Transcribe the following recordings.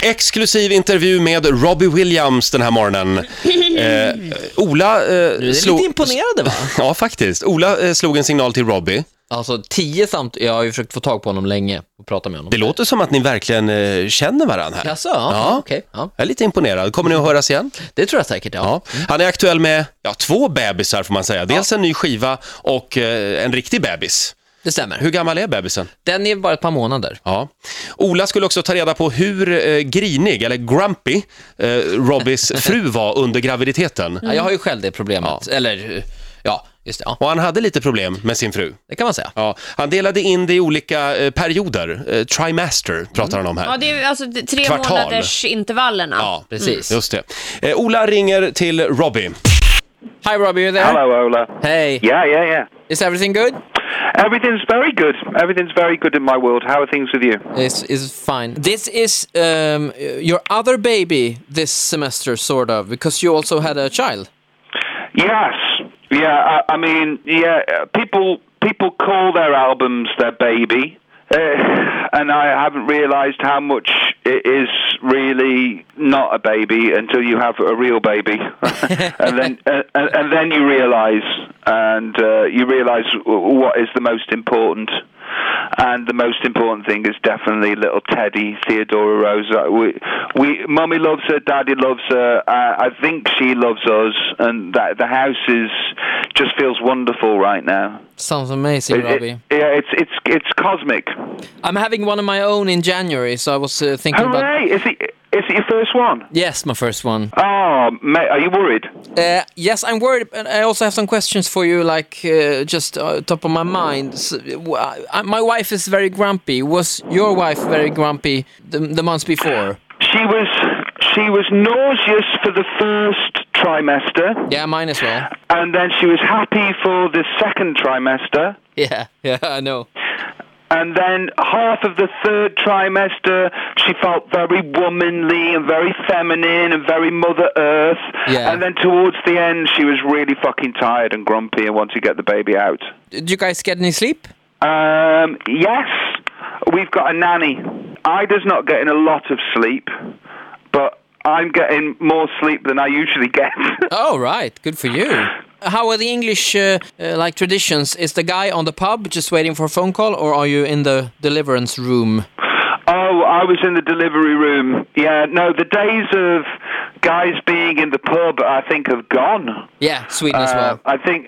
Exklusiv intervju med Robbie Williams den här morgonen. Ola Du är lite imponerade, va? Ja, faktiskt. Ola slog en signal till Robbie. Alltså 10 jag har ju försökt få tag på honom länge och prata med honom. Det låter som att ni verkligen känner varandra här. Jaså? Ja, okej. Ja. Jag är lite imponerad. Kommer ni att höras igen? Det tror jag säkert, ja. Han är aktuell med 2 bebisar får man säga. Dels en ny skiva och en riktig bebis. Det stämmer. Hur gammal är bebisen? Den är bara ett par månader. Ja. Ola skulle också ta reda på hur grinig eller grumpy Robbies fru var under graviditeten. Ja, jag har ju själv det problemet. Eller, ja, just det. Ja. Och han hade lite problem med sin fru. Det kan man säga. Ja, han delade in det i olika perioder. Trimester pratar han om här. Ja, det är alltså 3 Kvartal. månaders intervallerna. Ja, Precis. just det. Ola ringer till Robbie. Hi Robbie, you there? Hello, Ola. Hey. Yeah. Is everything good? Everything's very good. Everything's very good in my world. How are things with you? Is fine. This is your other baby this semester, sort of, because you also had a child. Yes. Yeah. I mean, yeah. People call their albums their baby, and I haven't realised how much it is really not a baby until you have a real baby, and then you realise, and you realise what is the most important. And the most important thing is definitely little Teddy, Theodora Rosa. We Mummy loves her, Daddy loves her. I think she loves us, and that the house just feels wonderful right now. Sounds amazing, Robbie. It's cosmic. I'm having one of my own in January, so I was thinking Hooray! Is it your first one? Yes, my first one. Oh, mate, are you worried? Yes, I'm worried, but I also have some questions for you, like just top of my mind. So, my wife is very grumpy. Was your wife very grumpy the months before? She was nauseous for the first trimester. Yeah, mine as well. And then she was happy for the second trimester. Yeah, I know. And then half of the third trimester, she felt very womanly and very feminine and very Mother Earth. Yeah. And then towards the end, she was really fucking tired and grumpy and wanted to get the baby out. Did you guys get any sleep? Yes. We've got a nanny. Ida's not getting a lot of sleep, but I'm getting more sleep than I usually get. Oh, right. Good for you. How are the English like traditions? Is the guy on the pub just waiting for a phone call, or are you in the deliverance room? Oh, I was in the delivery room. Yeah, no, the days of guys being in the pub, I think, have gone. Yeah, Sweden as well. I think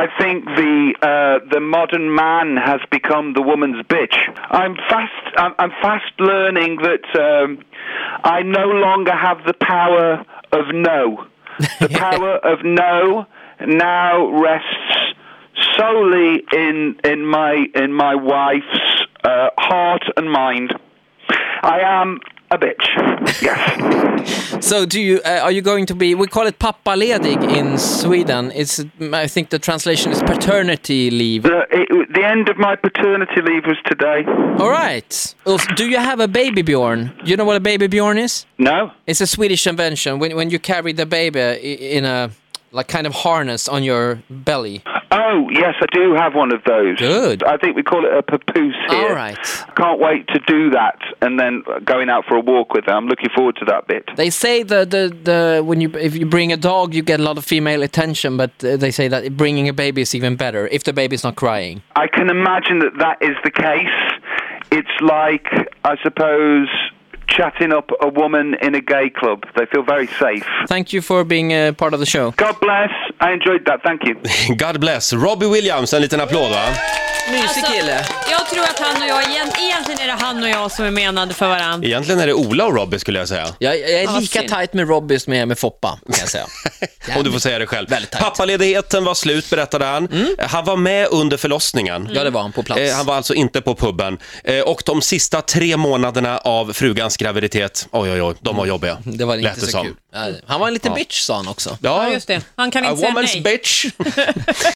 the modern man has become the woman's bitch. I'm fast learning that I no longer have the power of no. The power of no now rests solely in my wife's heart and mind. I am a bitch. Yes. So are you going to be, we call it pappaledig in Sweden. I think the translation is paternity leave. The end of my paternity leave was today. All right. Do you have a baby Bjorn? Do you know what a baby Bjorn is? No. It's a Swedish invention when you carry the baby in a like kind of harness on your belly. Oh, yes, I do have one of those. Good. I think we call it a papoose here. All right. Can't wait to do that and then going out for a walk with her. I'm looking forward to that bit. They say if you bring a dog, you get a lot of female attention, but they say that bringing a baby is even better if the baby's not crying. I can imagine that is the case. It's like, I suppose, chatting up a woman in a gay club. They feel very safe. Thank you for being part of the show. God bless. I enjoyed that. Thank you. God bless. Robbie Williams, en liten applåd, va? Mysig kille. Jag tror att han och jag, egentligen är det han och jag som är menade för varandra. Egentligen är det Ola och Robbie skulle jag säga. Jag är lika tight med Robbie som jag är med Foppa, kan jag säga. Om du får säga det själv. Väldigt Pappaledigheten var slut, berättade han. Han var med under förlossningen. Ja, det var han på plats. Han var alltså inte på pubben. Och de sista 3 månaderna av frugans graviditet, oj, de var jobbiga. Det var inte Lät det så som. kul. Han var en liten bitch, sa han också. Ja, just det. Han kan inte säga woman's nej. bitch.